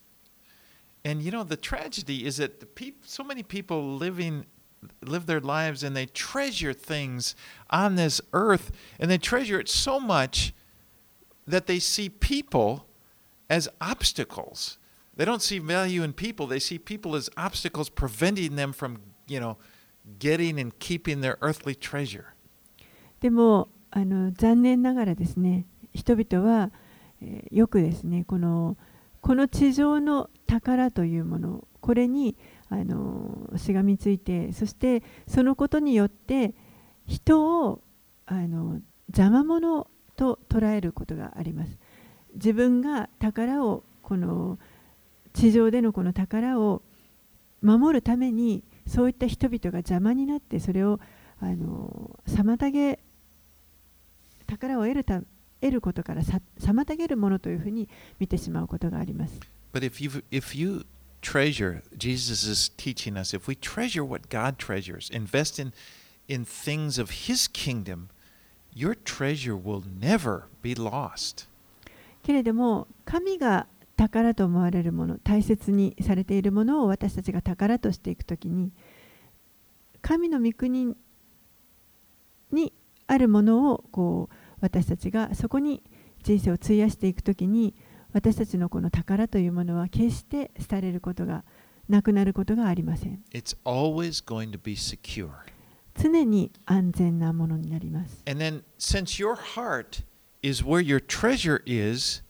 And you know, the tragedy is that the peop- so many people living live their lives and they treasure things on this earth, and they treasure it so much that they see people as obstacles. They don't see value in people. They see people as obstacles preventing them from, you know, getting and keeping their earthly treasure. でもあの残念ながらですね、人々は、えーよくですね、このこの地上の宝というもの、これにあのしがみついて、そしてそのことによって人をあの邪魔者と捉えることがあります。自分が宝をこの地上でのこの宝を守るために、そういった人々が邪魔になって、それをあの妨げ宝を得るた得ることからさ妨げるものというふうに見てしまうことがあります。 But if you if you treasure, Jesus is teaching us, if we treasure what God treasures, invest in in things of His kingdom, your treasure will never be lost. けれども、神が宝と思われるもの、大切にされているものを私たちが宝としていくときに、神の御国にあるものをこう私たちがそこに人生を費やしていくときに、私たちのこの宝というものは決して廃れることがなくなることがありません。 It's always going to be secure. 常に安全なものになります。 And then, since your heart is where your treasure is,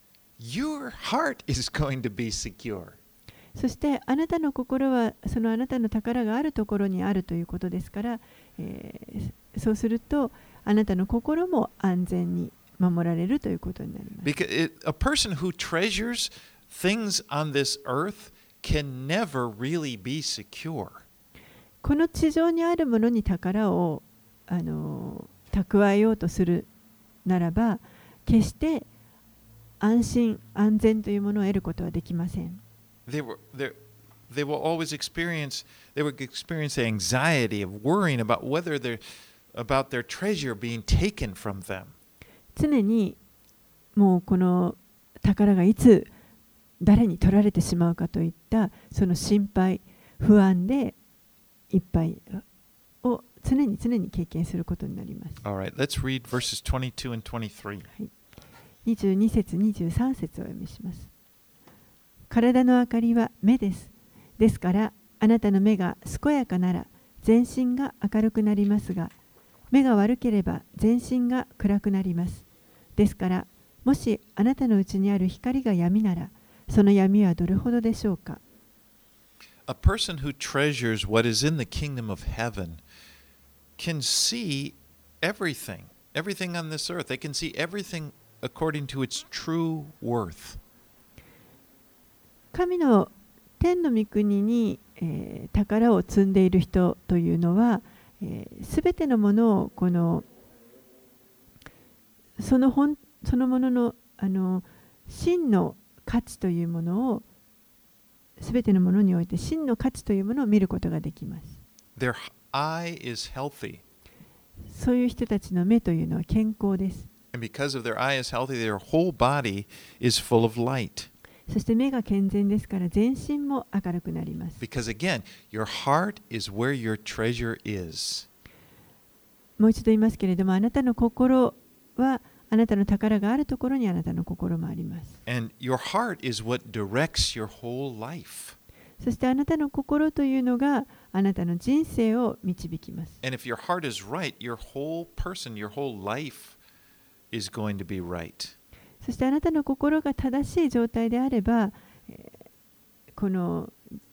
your heart is going to be secure. そしてあなたの心はそのあなたの宝があるところにあるということですから、えー、そうするとあなたの心も安全に守られるということになります。 Because it, a person who treasures things on this earth can never really be secure. この地上にあるものに宝をあの蓄えようとするならば、決して安心安全というものを得ることはできません。 They were they they will always experience they would experience the anxiety of worrying about whether they're about their treasure being taken from them. 常にもうこの宝がいつ誰に取られてしまうかといったその心配不安でいっぱいを常に常に経験することになります。 All right, let's read verses twenty-two and twenty-three. にじゅうに節にじゅうさん節をお読みします。体の明かりは目です。ですからあなたの目が健やかなら全身が明るくなりますが、目が悪ければ全身が暗くなります。ですからもしあなたのうちにある光が闇なら、その闇はどれほどでしょうか。 A person who treasures what is in the kingdom of heaven can see everything, everything on this earth. They can see everything according to its true worth. 神の天の御国に、えー、宝を積んでいる人というのは、す、えー、べてのものをこのその本そのもののあの真の価値というものをすべてのものにおいて真の価値というものを見ることができます。 Their eye is healthy. そういう人たちの目というのは健康です。 And because of their eye is healthy, their whole body is full of light. そして目が健全ですから全身も明るくなります。 Because again, your heart is where your treasure is. もう一度言いますけれども、あなたの心はあなたの宝があるところにあなたの心もあります。 And your heart is what directs your whole life. そしてあなたの心というのがあなたの人生を導きます。 And if your heart is right, your whole person, your whole life is going to be right. そしてあなたの心が正しい状態であれば、この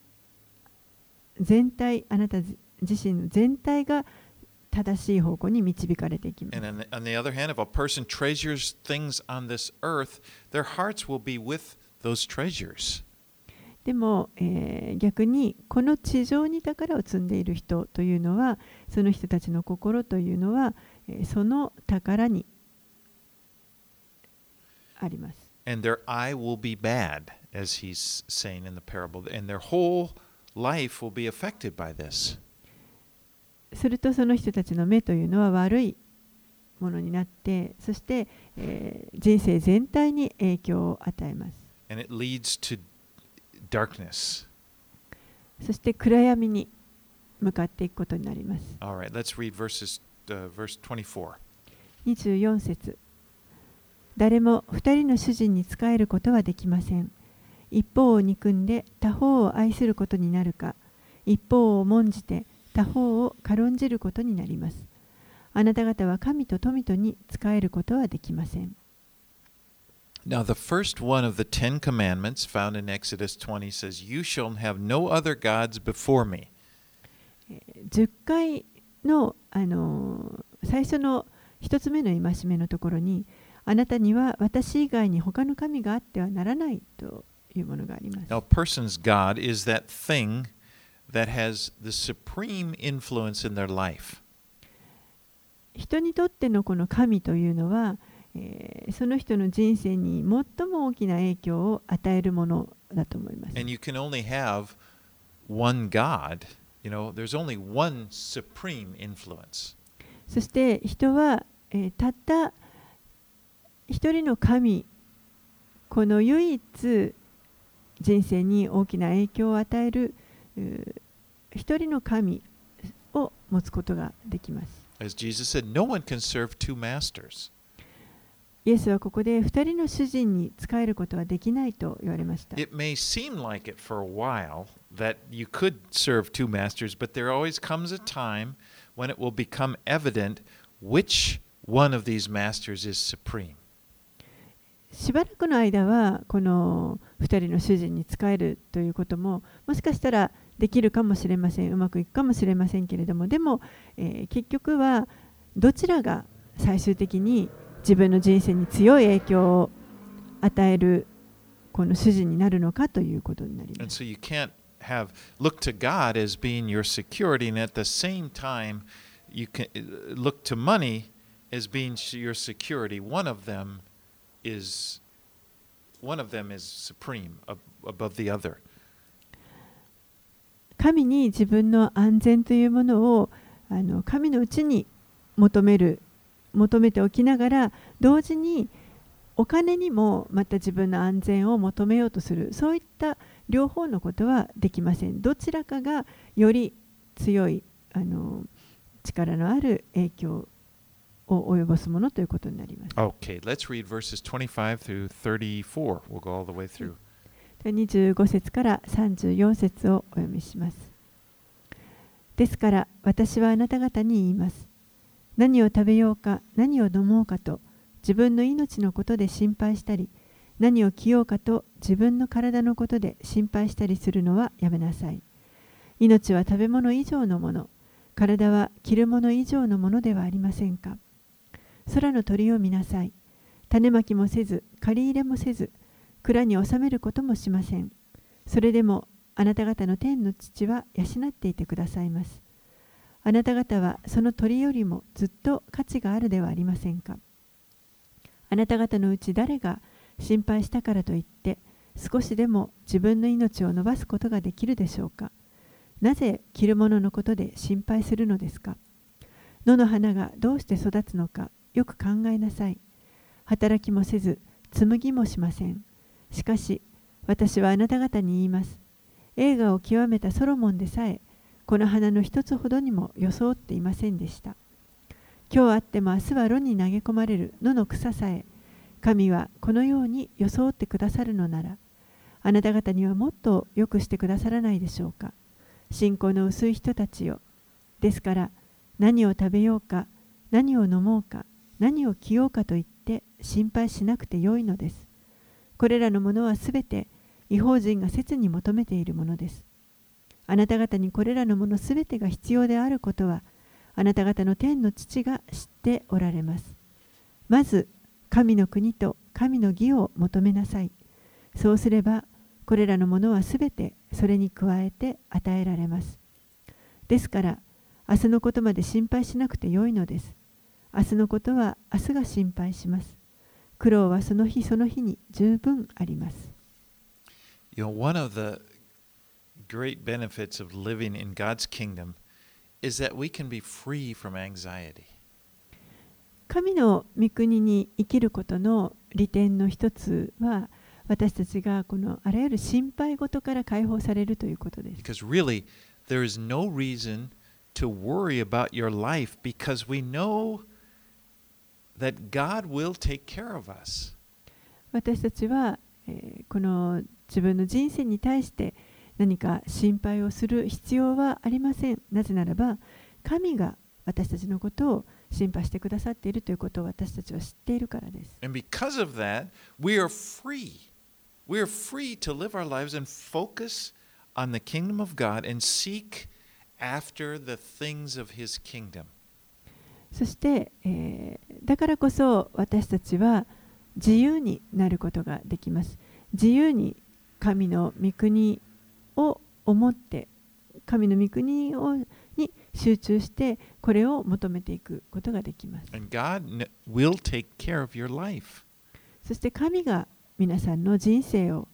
全体、あなた自身の全体が正しい方向に導かれていきます。 And on the, on the other hand, if a person treasures things on this earth, their hearts will be with those treasures. でも、えー、逆にこの地上に宝を積んでいる人というのは、その人たちの心というのは、えー、その宝にあります。 And their eye will be bad, as he's saying in the parable, and their whole life will be affected by this. するとその人たちの目というのは悪いものになって、そして、えー、人生全体に影響を与えます。 And it leads to darkness. そして暗闇に向かっていくことになります。 All right, let's read verses, uh, verse twenty-four. にじゅうよん節。誰も二人の主人に仕えることはできません。一方を憎んで他方を愛することになるか、一方を重んじて他方を軽んじることになります。あなた方は神と富とに仕えることはできません。 Now, the first one of the Ten Commandments found in Exodus twenty says, You shall have no other gods before me. じゅっかいの、あの最初の一つ目の戒めのところに、あなたには私以外に他の神があってはならないというものがあります。 Now, a person's God is that thing that has the supreme influence in their life. 人にとってのこの神というのは、えー、その人の人生に最も大きな影響を与えるものだと思います。 And you can only have one God. You know, there's only one supreme influence. そして人は、えー、たった一人の神、この唯一人生に大きな影響を与える一人の神を持つことができます。 As Jesus said, no one can serve two masters. イエスはここで二人の主人に仕えることはできないと言われました。 It may seem like it for a while that you could serve two masters, but there always comes a time when it will become evident which one of these masters is supreme. しばらくの間はこの二人の主人に仕えるということももしかしたらできるかもしれません。うまくいくかもしれませんけれども、でも、えー、結局はどちらが最終的に自分の人生に強い影響を与えるこの主人になるのかということになります。 And so you can't have look to God as being your security, and at the same time you can look to money as being your security. One of them is one of them is supreme above the other. 神に自分の安全というものをあの神のうちに求める求めておきながら、同時にお金にもまた自分の安全を求めようとする、そういった両方のことはできません。どちらかがより強いあの力のある影響を及ぼすものということになります。 Okay, let's read verses twenty-five through thirty-four. We'll go all the way through. にじゅうご節からさんじゅうよん節をお読みします。ですから私はあなた方に言います。何を食べようか何を飲もうかと自分の命のことで心配したり、何を着ようかと自分の体のことで心配したりするのはやめなさい。命は食べ物以上のもの、体は着るもの以上のものではありませんか。空の鳥を見なさい。種まきもせず、刈り入れもせず、蔵に収めることもしません。それでもあなた方の天の父は養っていてくださいます。あなた方はその鳥よりもずっと価値があるではありませんか。あなた方のうち誰が心配したからといって少しでも自分の命を伸ばすことができるでしょうか。なぜ着るもののことで心配するのですか。野の花がどうして育つのかよく考えなさい。働きもせず紡ぎもしません。しかし私はあなた方に言います。栄華を極めたソロモンでさえこの花の一つほどにも装っていませんでした。 今日あっても明日は炉に投げ込まれる野の草さえ、神はこのように装ってくださるのなら、あなた方にはもっと良くしてくださらないでしょうか。信仰の薄い人たちよ。ですから、何を食べようか、何を飲もうか、何を着ようかと言って心配しなくてよいのです。これらのものはすべて異邦人が切に求めているものです。あなた方にこれらのものすべてが必要であることは、あなた方の天の父が知っておられます。まず、神の国と神の義を求めなさい。そうすれば、これらのものはすべてそれに加えて与えられます。ですから、明日のことまで心配しなくてよいのです。明日のことは明日が心配します。苦労はその日その日に十分あります。 You know, one of the great benefits of living in God's kingdom is that we can be free from anxiety. 神の御国に生きることの利点の一つは、私たちがこのあらゆる心配事から解放されるということです。 Because really, there is no reason to worry about your life because we know that God will take care of us. 私たちは、えーこの自分の人生に対して何か心配をする必要はありません。なぜならば、神が私たちのことを心配してくださっているということを私たちは知っているからです。 And because of that, we are free. We are free to live our lives and focus on the kingdom of God and seek after the things of His kingdom. そして、えーだからこそ私たちは自由になることができます。自由に神の御国を思って、神の御国をに集中してこれを求めていくことができます。 And God kn- will take care of your life. そして神が皆さんの人生を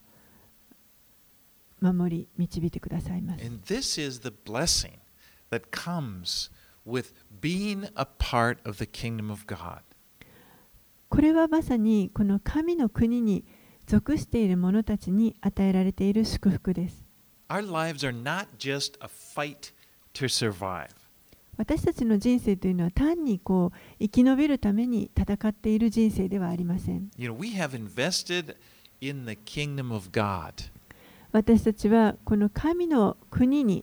守り導いてくださいます。 And this is the blessing that comes with being a part of the kingdom of God. これはまさにこの神の国に属している者たちに与えられている祝福です。 Our lives are not just a fight to survive. 私たちの人生というのは単にこう生き延びるために戦っている人生ではありません。 You know, we have invested in the kingdom of God. 私たちはこの神の国に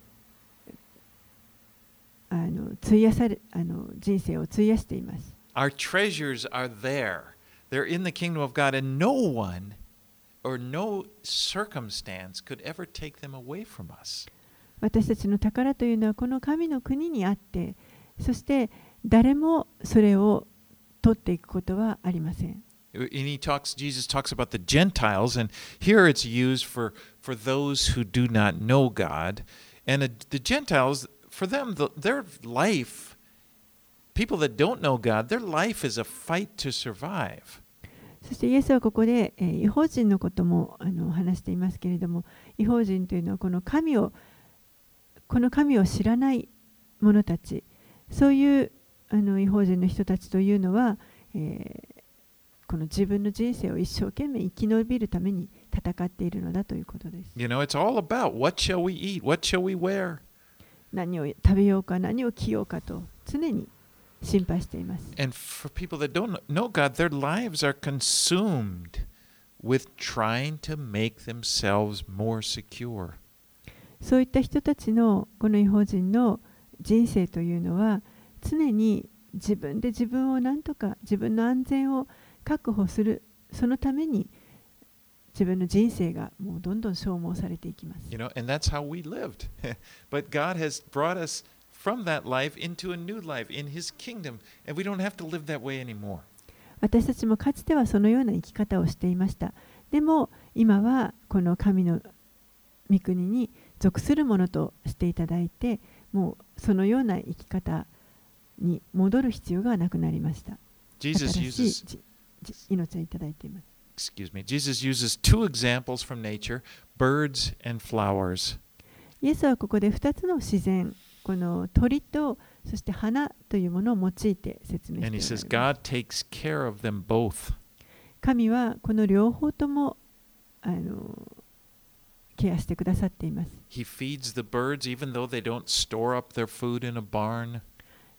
あの費やされあの人生を費やしています。 Our treasures are there. They're in the kingdom of God, and no one or no circumstance could ever take them away from us. 私たちの宝というのはこの神の国にあって、そして誰もそれを取っていくことはありません。 And he talks, Jesus talks about the Gentiles, and here it's used for, for those who do not know God. And the, the Gentiles, for them, the, their life, people that don't know God, their life is a fight to survive. そしてイエスはここで、えー、異邦人のこともあの話していますけれども、異邦人というのはこの神をこの神を知らない者たち、そういうあの異邦人の人たちというのは、えーこの自分の人生を一生懸命生き延びるために戦っているのだということです。 You know, it's all about what shall we eat? What shall we wear? 何を食べようか、何を着ようかと常に心配しています。 And for people that don't know God, their lives are consumed with trying to make themselves more secure. そういった人たちのこの異邦人の人生というのは常に自分で自分を何とか自分の安全を確保する、そのために自分の人生がもうどんどん消耗されていきます。 You know, and that's how we lived. But God has brought us from that life into a new life in His kingdom, and we don't have to live that way anymore. 私たちもかつてはそのような生き方をしていました。でも今はこの神の御国に属するものとしていただいて、もうそのような生き方に戻る必要がなくなりました。 Jesus 新しい uses じじ命をいただいています。 excuse me, Jesus uses two examples from nature, birds and flowers. イエスはここでふたつの自然、この鳥とそして花というものを用いて説明 And he して says おられます。 God takes care of them both. 神はこの両方ともあのケアしてくださっています。 He feeds the birds even though they don't store up their food in a barn.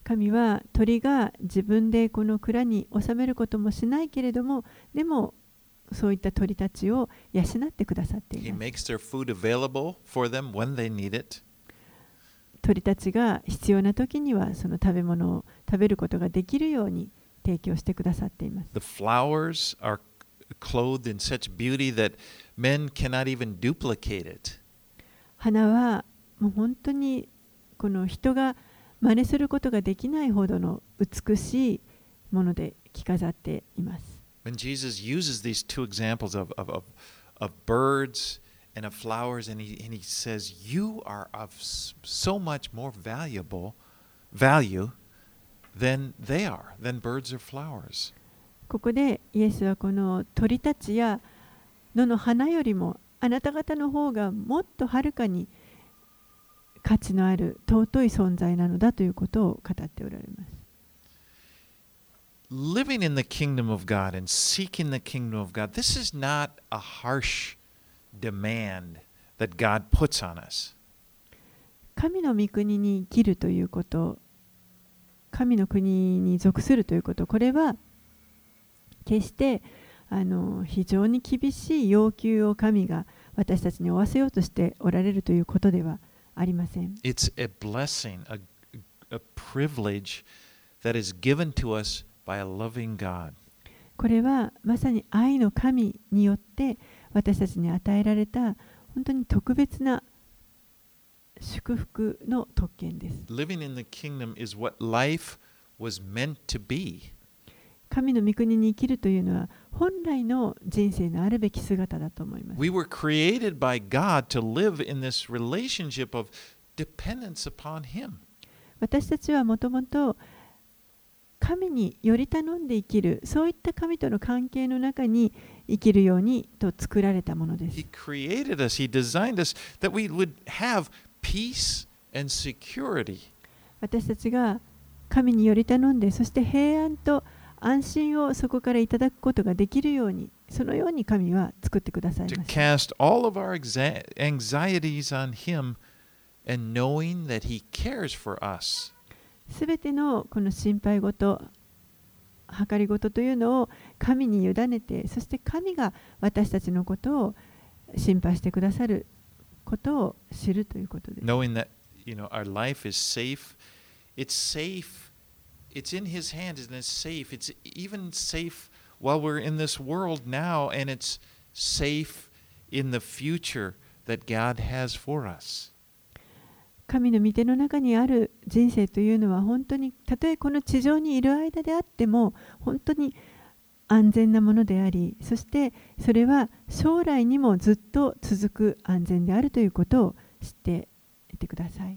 神は鳥が自分でこの蔵に収めることもしないけれども、でもそういった鳥たちを養ってくださってい He ます。 makes their food available for them when they need it. 鳥たちが必要な時にはその食べ物を食べることができるように提供してくださっています。 The flowers are clothed in such beauty that men cannot even duplicate it. 花はもう本当にこの人が真似することができないほどの美しいもので着飾っています。 When Jesus uses these two examples of, of, of, of birds and of flowers, and he, and he says, you are of so much more valuable value than they are, than birds or flowers. ここでイエスはこの鳥たちや野の花よりもあなた方の方がもっとはるかに価値のある尊い存在なのだということを語っておられます。 Living in the kingdom of God and seeking the kingdom of God, this is not a harsh demand that God puts on us. 神の御国に生きるということ、神の国に属するということ、これは決してあの非常に厳しい要求を神が私たちに負わせようとしておられるということではありません。 It's a blessing, a, a privilege that is given to us by a loving God. これはまさに愛の神によって私たちに与えられた本当に特別な祝福の特権です。 Living in the kingdom is what life was meant to be. 神の御国に生きるというのは本来の人生のあるべき姿だと思います。 We were created by God to live in this relationship of dependence upon Him. 私たちはもともと神により頼んで生きる、そういった神との関係の中に生きるようにと作られたものです。 He created us, He designed us that we would have peace and security. 私たちが神により頼んで、そして平安と安心をそこからいただくことができるように、そのように神は作ってください To ました。 cast all of our exa- anxieties on Him and knowing that He cares for us. すべてのこの心配事、計り事というのを神に委ねて、そして神が私たちのことを心配してくださることを知るということです。 Knowing that, you know, our life is safe. It's safe. It's in His hands and it's safe. It's even safe while we're in this world now, and it's safe in the future that God has for us. 神の御手の中にある人生というのは本当にたとえこの地上にいる間であっても本当に安全なものであり、そしてそれは将来にもずっと続く安全であるということを知っていてください。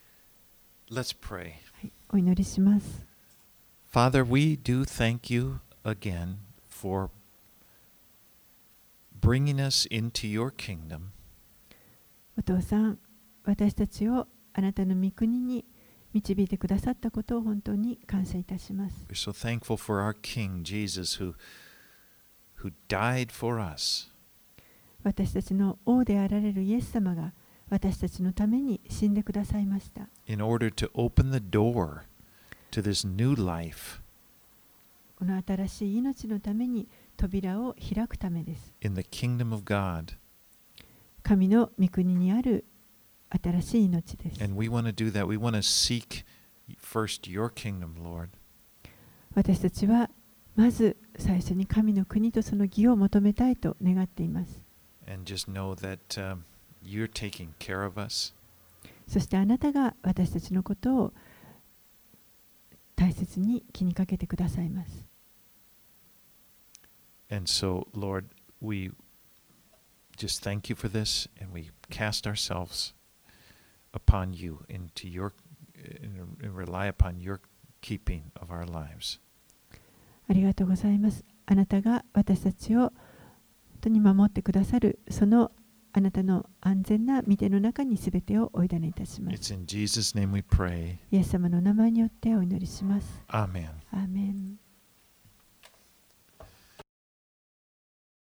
Let's pray. はい、お祈りします。 Father, we do thank you again for bringing us into your kingdom. お父さん、私たちをあなたの御国に導いてくださったことを本当に感謝いたします。 We're so thankful for our King Jesus who, who died for us. 私たちの王であられるイエス様が私たちのために死んでくださいました。 In order to open the door to this new life この新しい命のために扉を開くためです。 in the kingdom of God. 神の御国にある新しい命です。 And we want to do that. We want to seek first your kingdom, Lord. 私たちはまず最初に神の国とその義を求めたいと願っています。 And just know that um, you're taking care of us. そしてあなたが私たちのことを大切に気にかけてくださいます。 And so, Lord, we just thank you for this, and we cast ourselves upon you into your and rely upon your keeping of our lives. ありがとうございます。あなたが私たちを本当に守ってくださる、そのあなたの安全な御手の中にすべてをお委ねいたします。 It's in Jesus' name we pray. イエス様の名前によってお祈りします。 Amen. アーメン。